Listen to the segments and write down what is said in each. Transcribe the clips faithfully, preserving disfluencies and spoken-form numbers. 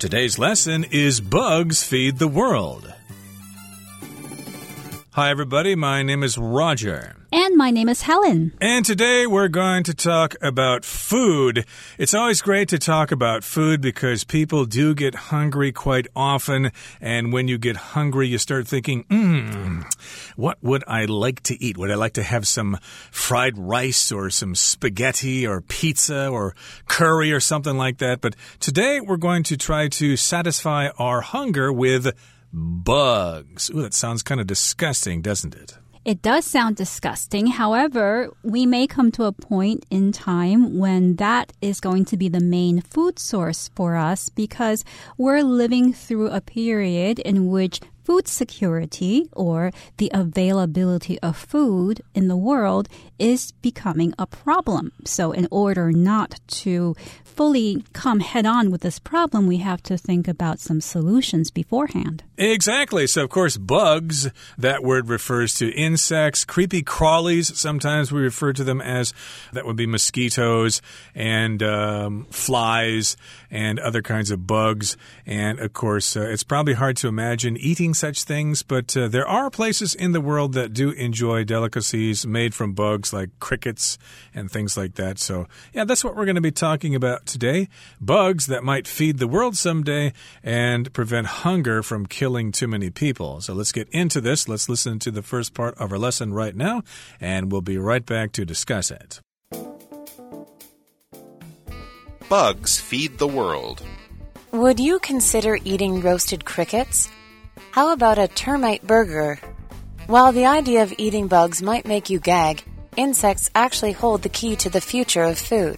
Today's lesson is Bugs Feed the World. Hi, everybody. My name is Roger. And my name is Helen. And today we're going to talk about food. It's always great to talk about food because people do get hungry quite often. And when you get hungry, you start thinking, hmm, what would I like to eat? Would I like to have some fried rice or some spaghetti or pizza or curry or something like that? But today we're going to try to satisfy our hunger with bugs. Ooh, that sounds kind of disgusting, doesn't it? It does sound disgusting. However, we may come to a point in time when that is going to be the main food source for us because we're living through a period in which food security or the availability of food in the world is becoming a problem. So in order not to fully come head on with this problem, we have to think about some solutions beforehand. Exactly. So, of course, bugs, that word refers to insects, creepy crawlies. Sometimes we refer to them as, that would be mosquitoes and um, flies and other kinds of bugs. And, of course, uh, it's probably hard to imagine eating such things, but uh, there are places in the world that do enjoy delicacies made from bugs like crickets and things like that. So, yeah, that's what we're going to be talking about today. Bugs that might feed the world someday and prevent hunger from killing too many people. So let's get into this. Let's listen to the first part of our lesson right now, and we'll be right back to discuss it. Bugs feed the world. Would you consider eating roasted crickets? How about a termite burger? While the idea of eating bugs might make you gag, insects actually hold the key to the future of food.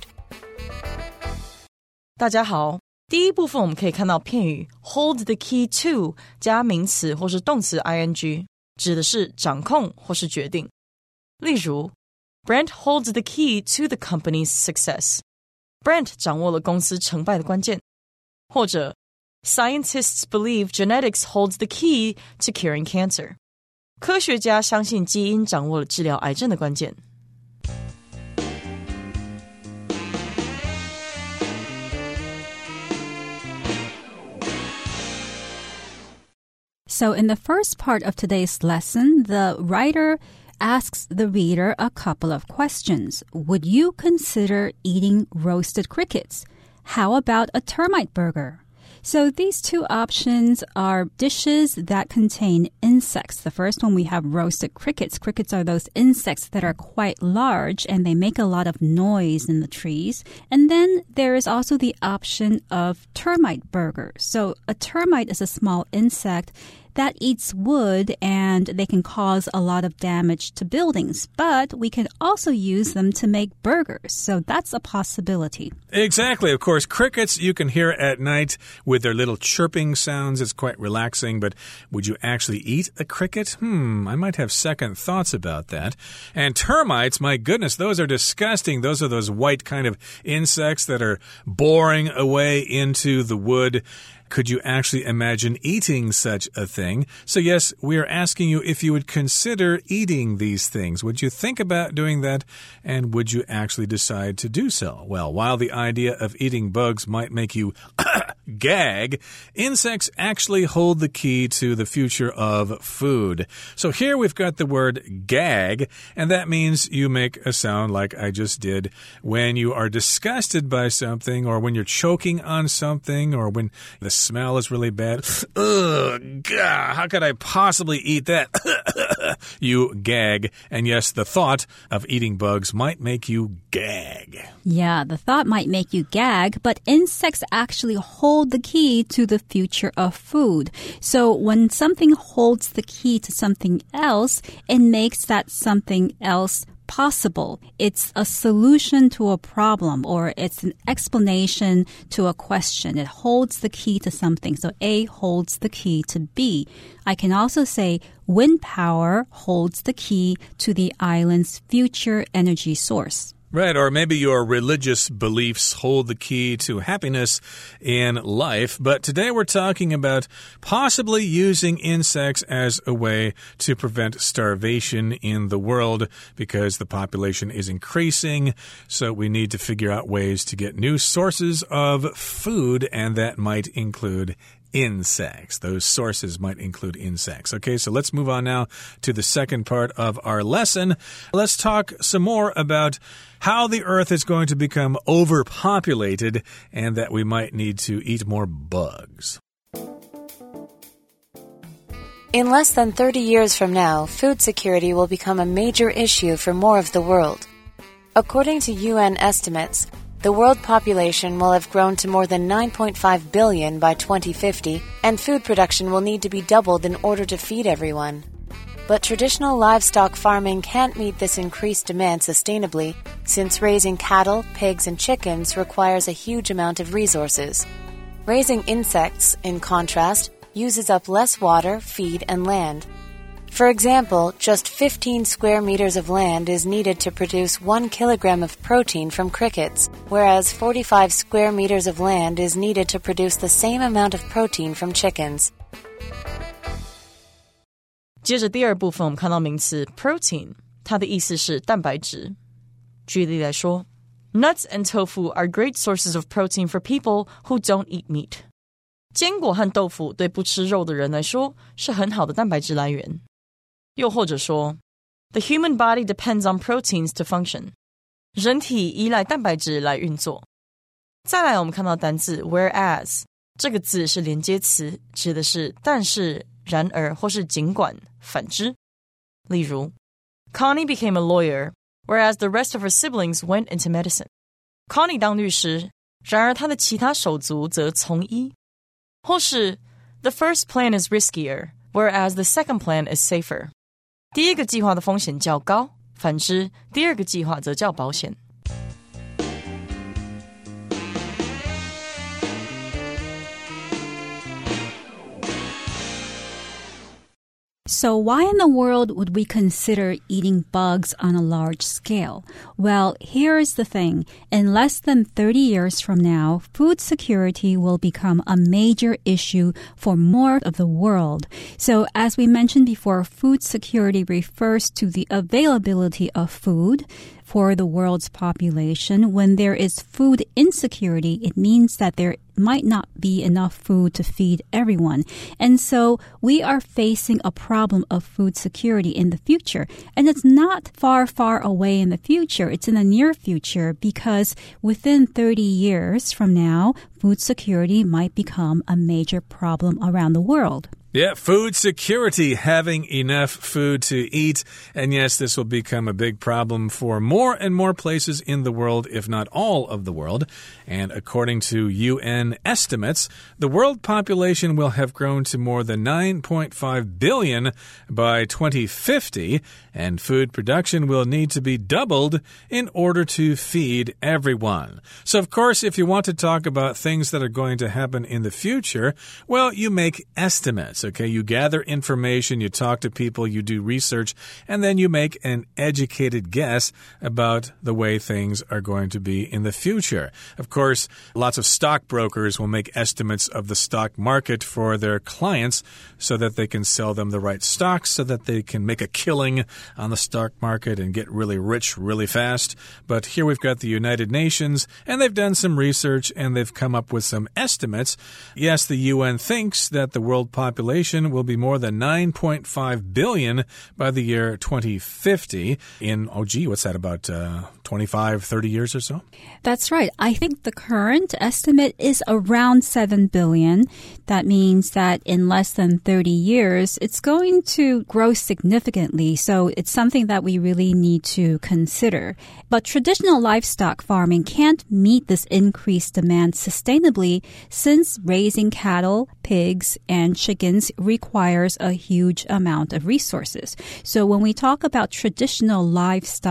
大家好，第一部分我们可以看到片语 hold the key to 加名詞或是動詞 ing， 指的是掌控或是決定。例如 Brent holds the key to the company's success. Brent 掌握了公司成敗的關鍵。或者 Scientists believe genetics holds the key to curing cancer. 科學家相信基因掌握了治療癌症的關鍵。 So in the first part of today's lesson, the writer asks the reader a couple of questions. Would you consider eating roasted crickets? How about a termite burger? So these two options are dishes that contain insects. The first one, we have roasted crickets. Crickets are those insects that are quite large and they make a lot of noise in the trees. And then there is also the option of termite burger. So a termite is a small insect that eats wood and they can cause a lot of damage to buildings. But we can also use them to make burgers. So that's a possibility. Exactly. Of course, crickets you can hear at night with their little chirping sounds. It's quite relaxing. But would you actually eat a cricket? Hmm, I might have second thoughts about that. And termites, my goodness, those are disgusting. Those are those white kind of insects that are boring away into the wood. Could you actually imagine eating such a thing? So yes, we are asking you if you would consider eating these things. Would you think about doing that? And would you actually decide to do so? Well, while the idea of eating bugs might make you gag, insects actually hold the key to the future of food. So here we've got the word gag, and that means you make a sound like I just did when you are disgusted by something, or when you're choking on something, or when the smell is really bad. Ugh, God, how could I possibly eat that? You gag. And yes, the thought of eating bugs might make you gag. Yeah, the thought might make you gag, but insects actually hold the key to the future of food. So when something holds the key to something else, it makes that something else possible. It's a solution to a problem, or it's an explanation to a question. It holds the key to something. So A holds the key to B. I can also say wind power holds the key to the island's future energy source. Right, or maybe your religious beliefs hold the key to happiness in life. But today we're talking about possibly using insects as a way to prevent starvation in the world because the population is increasing. So we need to figure out ways to get new sources of food, and that might include insects. Those sources might include insects. Okay, so let's move on now to the second part of our lesson. Let's talk some more about how the Earth is going to become overpopulated and that we might need to eat more bugs. In less than thirty years from now, food security will become a major issue for more of the world. According to U N estimates, the world population will have grown to more than nine point five billion by twenty fifty, and food production will need to be doubled in order to feed everyone. But traditional livestock farming can't meet this increased demand sustainably, since raising cattle, pigs, and chickens requires a huge amount of resources. Raising insects, in contrast, uses up less water, feed, and land. For example, just fifteen square meters of land is needed to produce one kilogram of protein from crickets, whereas forty-five square meters of land is needed to produce the same amount of protein from chickens. 接着第二部分我们看到名词 protein， 它的意思是蛋白質。舉例來說 Nuts and tofu are great sources of protein for people who don't eat meat. 堅果和豆腐對不吃肉的人來說是很好的蛋白質來源。又或者說 The human body depends on proteins to function. 人體依賴蛋白質來運作。再來我們看到單字 whereas， 這個字是連接詞，指的是但是、然而或是儘管、反之。例如 Connie became a lawyer, whereas the rest of her siblings went into medicine. Connie 當律師，然而她的其他手足則從醫。或是 The first plan is riskier, whereas the second plan is safer. 第一個計劃的風險較高，反之，第二個計劃則較保險。 So why in the world would we consider eating bugs on a large scale? Well, here's the thing. In less than thirty years from now, food security will become a major issue for more of the world. So as we mentioned before, food security refers to the availability of food for the world's population. When there is food insecurity, it means that there might not be enough food to feed everyone. And so we are facing a problem of food security in the future. And it's not far, far away in the future. It's in the near future because within thirty years from now, food security might become a major problem around the world. Yeah, food security, having enough food to eat. And yes, this will become a big problem for more and more places in the world, if not all of the world. And according to U N estimates, the world population will have grown to more than nine point five billion by twenty fifty, and food production will need to be doubled in order to feed everyone. So, of course, if you want to talk about things that are going to happen in the future, well, you make estimates. Okay, you gather information, you talk to people, you do research, and then you make an educated guess about the way things are going to be in the future. Of course, lots of stockbrokers will make estimates of the stock market for their clients so that they can sell them the right stocks, so that they can make a killing on the stock market and get really rich really fast. But here we've got the United Nations, and they've done some research, and they've come up with some estimates. Yes, the U N thinks that the world population will be more than nine point five billion by the year twenty fifty. In, oh gee, what's that, about uh, twenty-five, thirty years or so? That's right. I think the current estimate is around seven billion. That means that in less than thirty years, it's going to grow significantly. So it's something that we really need to consider. But traditional livestock farming can't meet this increased demand sustainably since raising cattle, pigs, and chickens requires a huge amount of resources. So when we talk about traditional livestock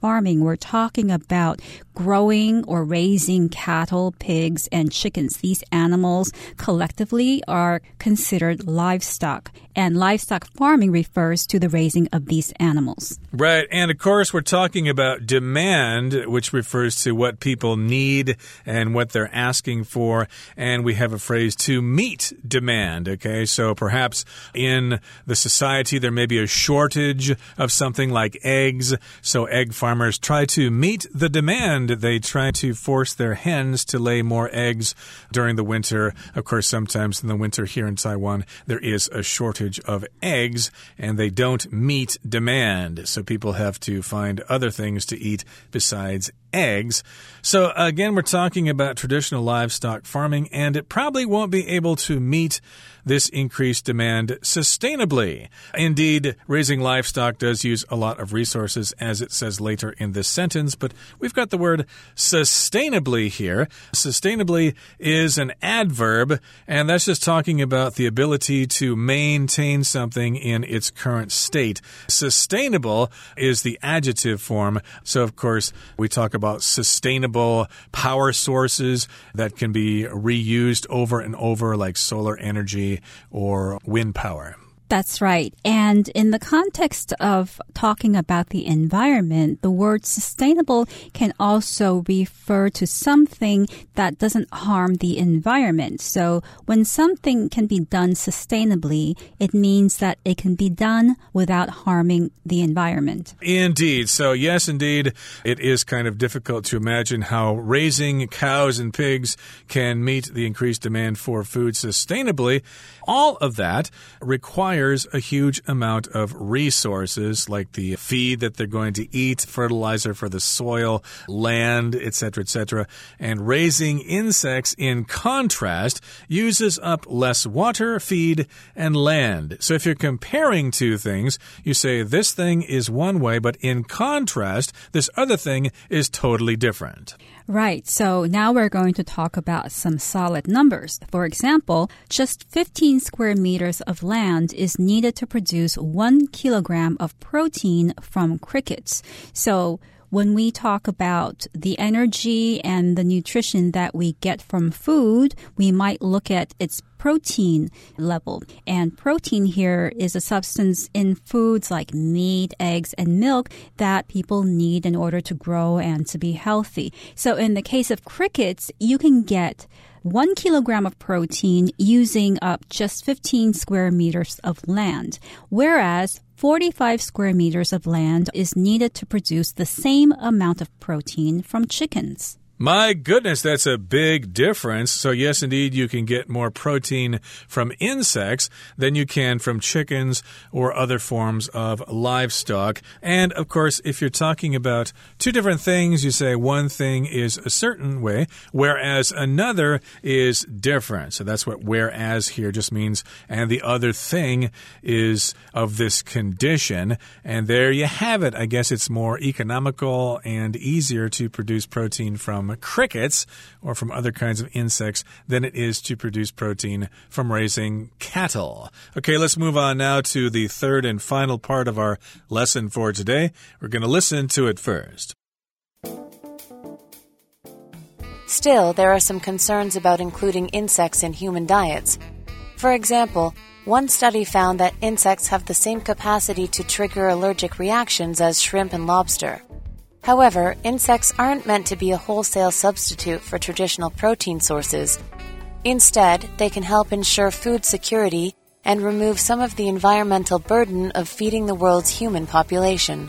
farming, we're talking about growing or raising cattle, pigs, and chickens. These animals collectively are considered livestock, and livestock farming refers to the raising of these animals. Right, and of course we're talking about demand, which refers to what people need and what they're asking for, and we have a phrase to meet demand, okay? So perhaps in the society there may be a shortage of something like eggs, so egg farmers try to meet the demand. They try to force their hens to lay more eggs during the winter. Of course, sometimes in the winter here in Taiwan, there is a shortage of eggs, and they don't meet demand. So people have to find other things to eat besides eggs. So again, we're talking about traditional livestock farming, and it probably won't be able to meet this increased demand sustainably. Indeed, raising livestock does use a lot of resources, as it says later in this sentence, but we've got the word sustainably here. Sustainably is an adverb, and that's just talking about the ability to maintain something in its current state. Sustainable is the adjective form, so of course we talk about sustainable power sources that can be reused over and over, like solar energy or wind power. That's right. And in the context of talking about the environment, the word sustainable can also refer to something that doesn't harm the environment. So when something can be done sustainably, it means that it can be done without harming the environment. Indeed. So yes, indeed, it is kind of difficult to imagine how raising cows and pigs can meet the increased demand for food sustainably. All of that requires a huge amount of resources, like the feed that they're going to eat, fertilizer for the soil, land, et cetera, et cetera. And raising insects, in contrast, uses up less water, feed, and land. So if you're comparing two things, you say this thing is one way, but in contrast, this other thing is totally different. Right. So now we're going to talk about some solid numbers. For example, just fifteen square meters of land is needed to produce one kilogram of protein from crickets. So when we talk about the energy and the nutrition that we get from food, we might look at its protein level. And protein here is a substance in foods like meat, eggs, and milk that people need in order to grow and to be healthy. So in the case of crickets, you can get one kilogram of protein using up just fifteen square meters of land, whereas forty-five square meters of land is needed to produce the same amount of protein from chickens. My goodness, that's a big difference. So yes, indeed, you can get more protein from insects than you can from chickens or other forms of livestock. And of course, if you're talking about two different things, you say one thing is a certain way, whereas another is different. So that's what whereas here just means, and the other thing is of this condition. And there you have it. I guess it's more economical and easier to produce protein from crickets or from other kinds of insects than it is to produce protein from raising cattle. Okay, let's move on now to the third and final part of our lesson for today. We're going to listen to it first. Still, there are some concerns about including insects in human diets. For example, one study found that insects have the same capacity to trigger allergic reactions as shrimp and lobster. However, insects aren't meant to be a wholesale substitute for traditional protein sources. Instead, they can help ensure food security and remove some of the environmental burden of feeding the world's human population.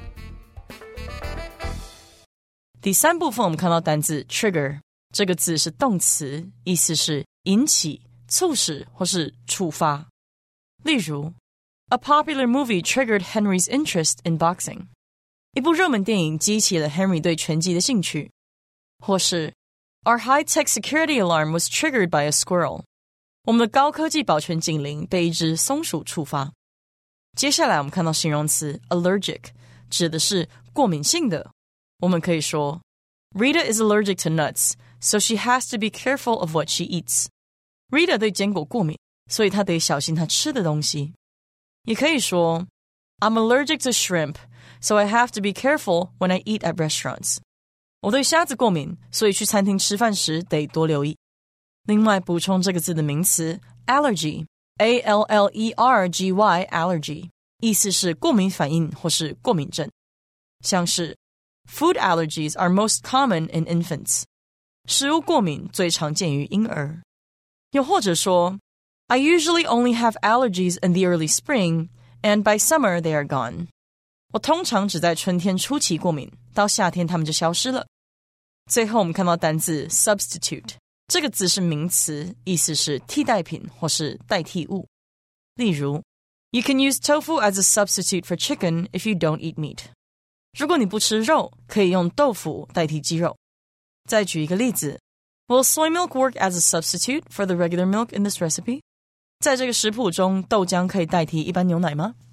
第三部分我们看到单字 trigger 这个字是动词，意思是引起、促使或是触发。例如 A popular movie triggered Henry's interest in boxing. 一部热门電影激起了 Henry 對拳擊的興趣。或是 Our high-tech security alarm was triggered by a squirrel. 我們的高科技保全警鈴被一隻松鼠觸發。接下來我們看到形容詞 allergic 指的是過敏性的。我們可以說 Rita is allergic to nuts, so she has to be careful of what she eats. Rita 對堅果過敏，所以她得小心她吃的東西。也可以說 I'm allergic to shrimp, so I have to be careful when I eat at restaurants. 我对蝦子過敏，所以去餐廳吃飯時得多留意。另外補充這個字的名詞 allergy, A L L E R G Y, allergy, 意思是過敏反應或是過敏症。像是 Food allergies are most common in infants. 食物過敏最常見於嬰兒。又或者說 I usually only have allergies in the early spring, and by summer they are gone. 我通常只在春天初期過敏，到夏天它們就消失了。最後我們看到單字 substitute, 這個字是名詞，意思是替代品或是代替物。例如 You can use tofu as a substitute for chicken if you don't eat meat. 如果你不吃肉，可以用豆腐代替雞肉。再舉一個例子 Will soy milk work as a substitute for the regular milk in this recipe? 在這個食譜中，豆漿可以代替一般牛奶嗎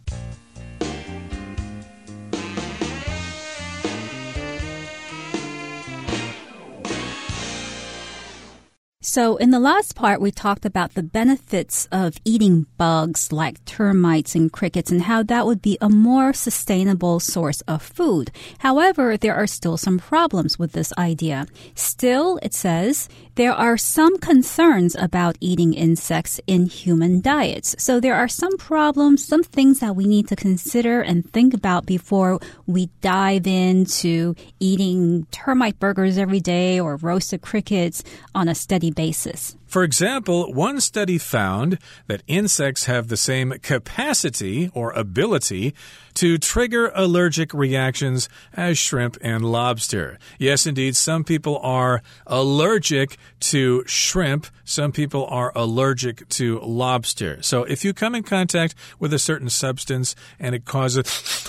So in the last part, we talked about the benefits of eating bugs like termites and crickets and how that would be a more sustainable source of food. However, there are still some problems with this idea. Still, it says, there are some concerns about eating insects in human diets. So there are some problems, some things that we need to consider and think about before we dive into eating termite burgers every day or roasted crickets on a steady basis. For example, one study found that insects have the same capacity or ability to trigger allergic reactions as shrimp and lobster. Yes, indeed, some people are allergic to shrimp. Some people are allergic to lobster. So if you come in contact with a certain substance and it causes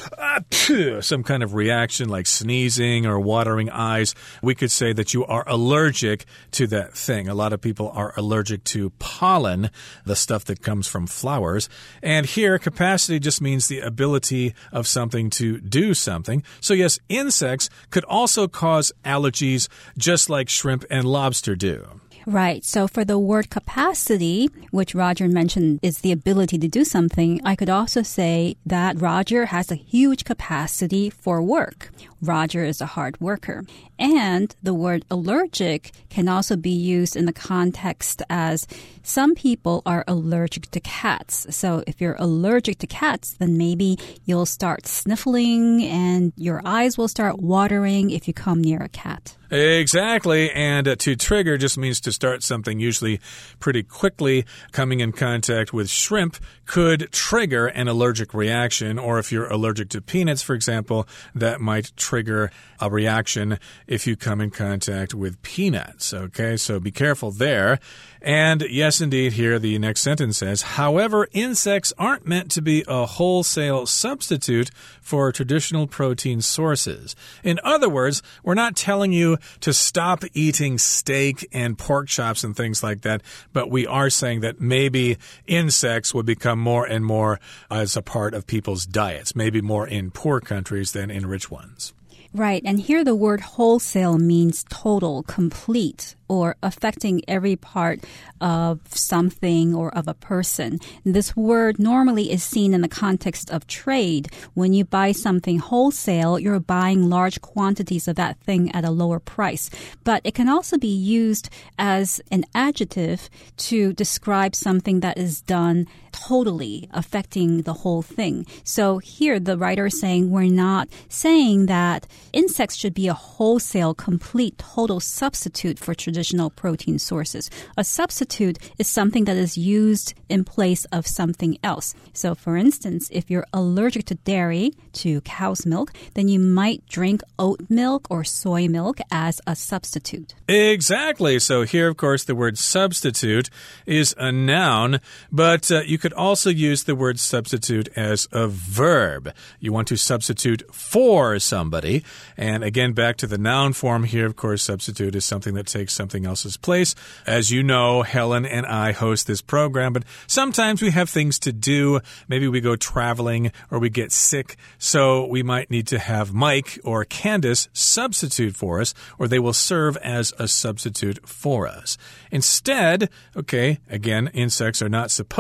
some kind of reaction like sneezing or watering eyes, we could say that you are allergic to that thing. A lot of people are allergic to pollen, the stuff that comes from flowers. And here, capacity just means the ability of something to do something. So yes, insects could also cause allergies just like shrimp and lobster do. Right. So for the word capacity, which Roger mentioned is the ability to do something, I could also say that Roger has a huge capacity for work. Roger is a hard worker. And the word allergic can also be used in the context as some people are allergic to cats. So if you're allergic to cats, then maybe you'll start sniffling and your eyes will start watering if you come near a cat. Exactly. And uh, to trigger just means to start something usually pretty quickly. Coming in contact with shrimp could trigger an allergic reaction. Or if you're allergic to peanuts, for example, that might trigger a reaction if you come in contact with peanuts. Okay, so be careful there. And yes, indeed, here the next sentence says, however, insects aren't meant to be a wholesale substitute for traditional protein sources. In other words, we're not telling you to stop eating steak and pork chops and things like that, but we are saying that maybe insects would become more and more as a part of people's diets, maybe more in poor countries than in rich ones. Right, and here the word wholesale means total, complete, or affecting every part of something or of a person. This word normally is seen in the context of trade. When you buy something wholesale, you're buying large quantities of that thing at a lower price. But it can also be used as an adjective to describe something that is done totally, affecting the whole thing. So here the writer is saying we're not saying that insects should be a wholesale, complete, total substitute for traditional protein sources. A substitute is something that is used in place of something else. So, for instance, if you're allergic to dairy, to cow's milk, then you might drink oat milk or soy milk as a substitute. Exactly. So here, of course, the word substitute is a noun, but uh, you could also use the word substitute as a verb. You want to substitute for somebody. And again, back to the noun form here, of course, substitute is something that takes something else's place. As you know, Helen and I host this program, but sometimes we have things to do. Maybe we go traveling or we get sick, so we might need to have Mike or Candace substitute for us, or they will serve as a substitute for us. Instead, okay, again, insects are not supposed to be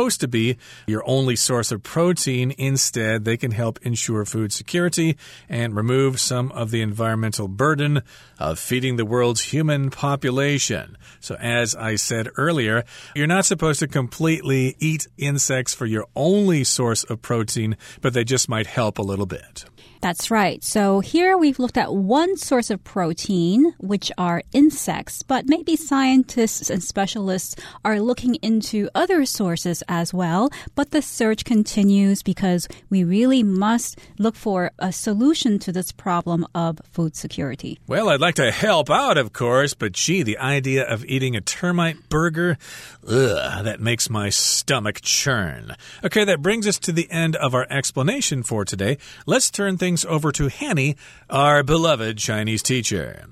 be your only source of protein. Instead, they can help ensure food security and remove some of the environmental burden of feeding the world's human population. So as I said earlier, you're not supposed to completely eat insects for your only source of protein, but they just might help a little bit. That's right. So here we've looked at one source of protein, which are insects, but maybe scientists and specialists are looking into other sources as well. But the search continues because we really must look for a solution to this problem of food security. Well, I'd like to help out, of course, but gee, the idea of eating a termite burger, ugh, that makes my stomach churn. Okay, that brings us to the end of our explanation for today. Let's turn things over to Hanny, our beloved Chinese teacher.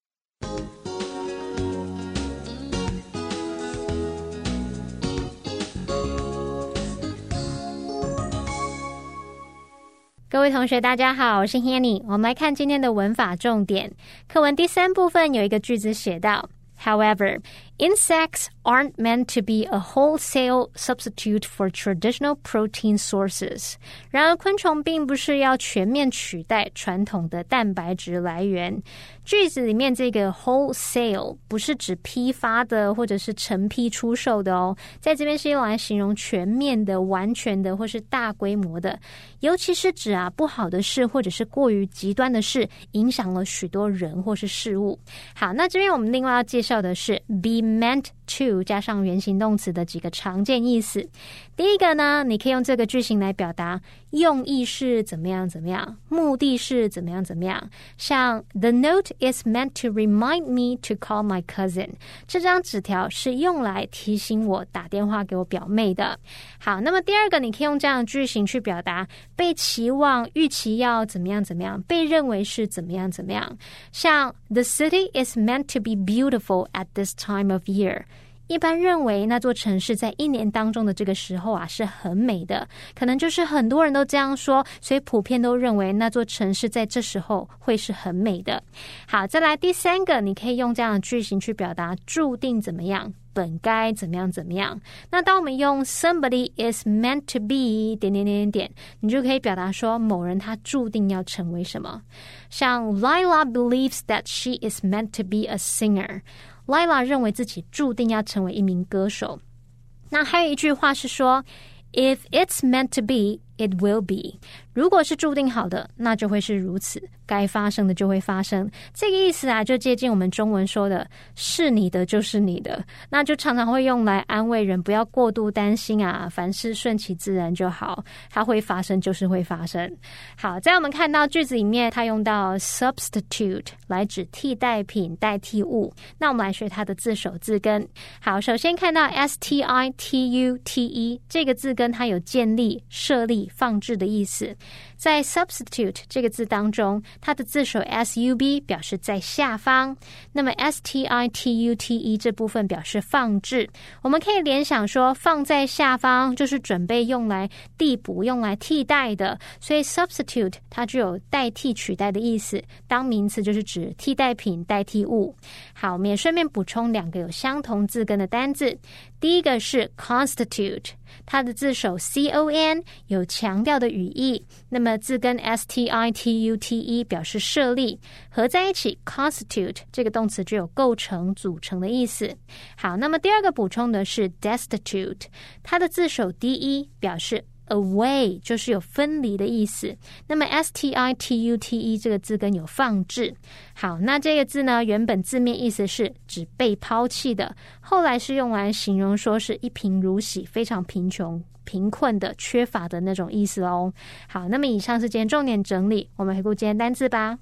各位同学大家好，我是 Hanny。 我们来看今天的文法重点。課文第三部分有一個句子寫到 However, insects aren't meant to be a wholesale substitute for traditional protein sources. 然而昆蟲並不是要全面取代傳統的蛋白質來源。句子裡面這個 wholesale 不是指批發的或者是成批出售的哦，在這邊是用來形容全面的、完全的或是大規模的，尤其是指啊不好的事或者是過於極端的事，影響了許多人或是事物。好，那這邊我們另外要介紹的是 be meant to 加上原形動詞的幾個常見意思。第一個呢，你可以用這個句型來表達用意是怎麼樣怎麼樣，目的是怎麼樣怎麼樣。像 The note is meant to remind me to call my cousin. 這張紙條是用來提醒我打電話給我表妹的。好，那麼第二個你可以用這樣的句型去表達被期望、預期要怎麼樣怎麼樣，被認為是怎麼樣怎麼樣。像 The city is meant to be beautiful at this time of year. 一般認為那座城市在一年當中的這個時候啊是很美的，可能就是很多人都這樣說，所以普遍都認為那座城市在這時候會是很美的。好，再來第三個，你可以用這樣的句型去表達注定怎麼樣，本該怎麼樣怎麼樣。那當我們用 somebody is meant to be 點點點點點，你就可以表達說某人他注定要成為什麼。像 Lila believes that she is meant to be a singer。Lila 認為自己注定要成為一名歌手。那還有一句話是說 If it's meant to be, it will be. 如果是注定好的，那就會是如此，該發生的就會發生。這個意思啊，就接近我們中文說的是你的就是你的，那就常常會用來安慰人不要過度擔心啊，凡事順其自然就好，它會發生就是會發生。好，在我們看到句子裡面它用到 substitute 來指替代品、代替物。那我們來學它的字首字根。好，首先看到 S T I T U T E 這個字根，它有建立、設立、放置的意思。在 substitute 這個字當中，它的字首 S U B 表示在下方，那麼 S T I T U T E 這部分表示放置。我們可以聯想說放在下方就是準備用來遞補、用來替代的，所以 substitute 它具有代替、取代的意思，當名詞就是指替代品、代替物。好，我們也順便補充兩個有相同字根的單字。第一個是 constitute， 它的字首 C O N 有強調的語義，那麼字根 S T I T U T E 表示設立，合在一起 constitute 這個動詞具有構成、組成的意思。好，那麼第二個補充的是 destitute， 它的字首 D E 表示away 就是有分離的意思，那麼 S T I T U T E 這個字根有放置。好，那這個字呢，原本字面意思是指被拋棄的，後來是用來形容說是一貧如洗，非常貧窮、貧困的、缺乏的那種意思哦。好，那麼以上是今天重點整理，我們回顧今天單字吧。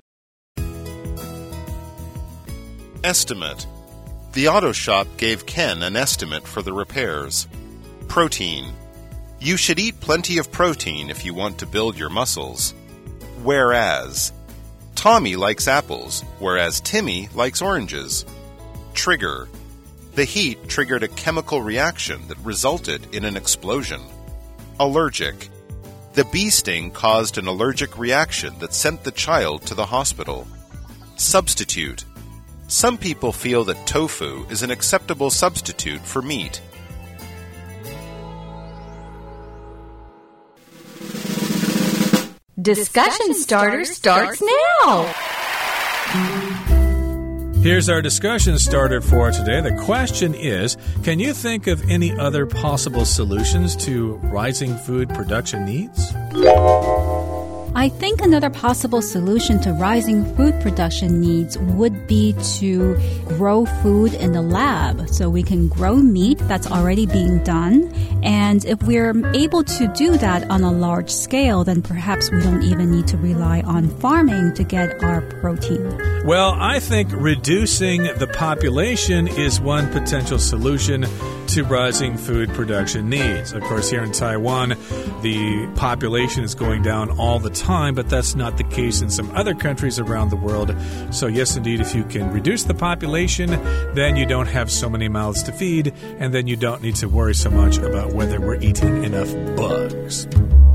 Estimate. The auto shop gave Ken an estimate for the repairs. Protein.You should eat plenty of protein if you want to build your muscles. Whereas, Tommy likes apples, whereas Timmy likes oranges. Trigger. The heat triggered a chemical reaction that resulted in an explosion. Allergic. The bee sting caused an allergic reaction that sent the child to the hospital. Substitute. Some people feel that tofu is an acceptable substitute for meat. Discussion Starter starts now. Here's our discussion starter for today. The question is, can you think of any other possible solutions to rising food production needs? I think another possible solution to rising food production needs would be to grow food in the lab. So we can grow meat that's already being done. And if we're able to do that on a large scale, then perhaps we don't even need to rely on farming to get our protein. Well, I think reducing the population is one potential solution to rising food production needs. Of course, here in Taiwan, the population is going down all the time, but that's not the case in some other countries around the world. So yes, indeed, if you can reduce the population, then you don't have so many mouths to feed, and then you don't need to worry so much about whether we're eating enough bugs.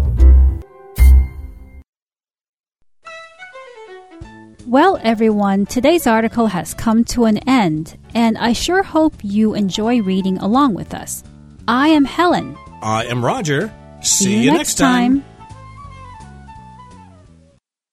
Well, everyone, today's article has come to an end, and I sure hope you enjoy reading along with us. I am Helen. I am Roger. See, See you, you next next time. time.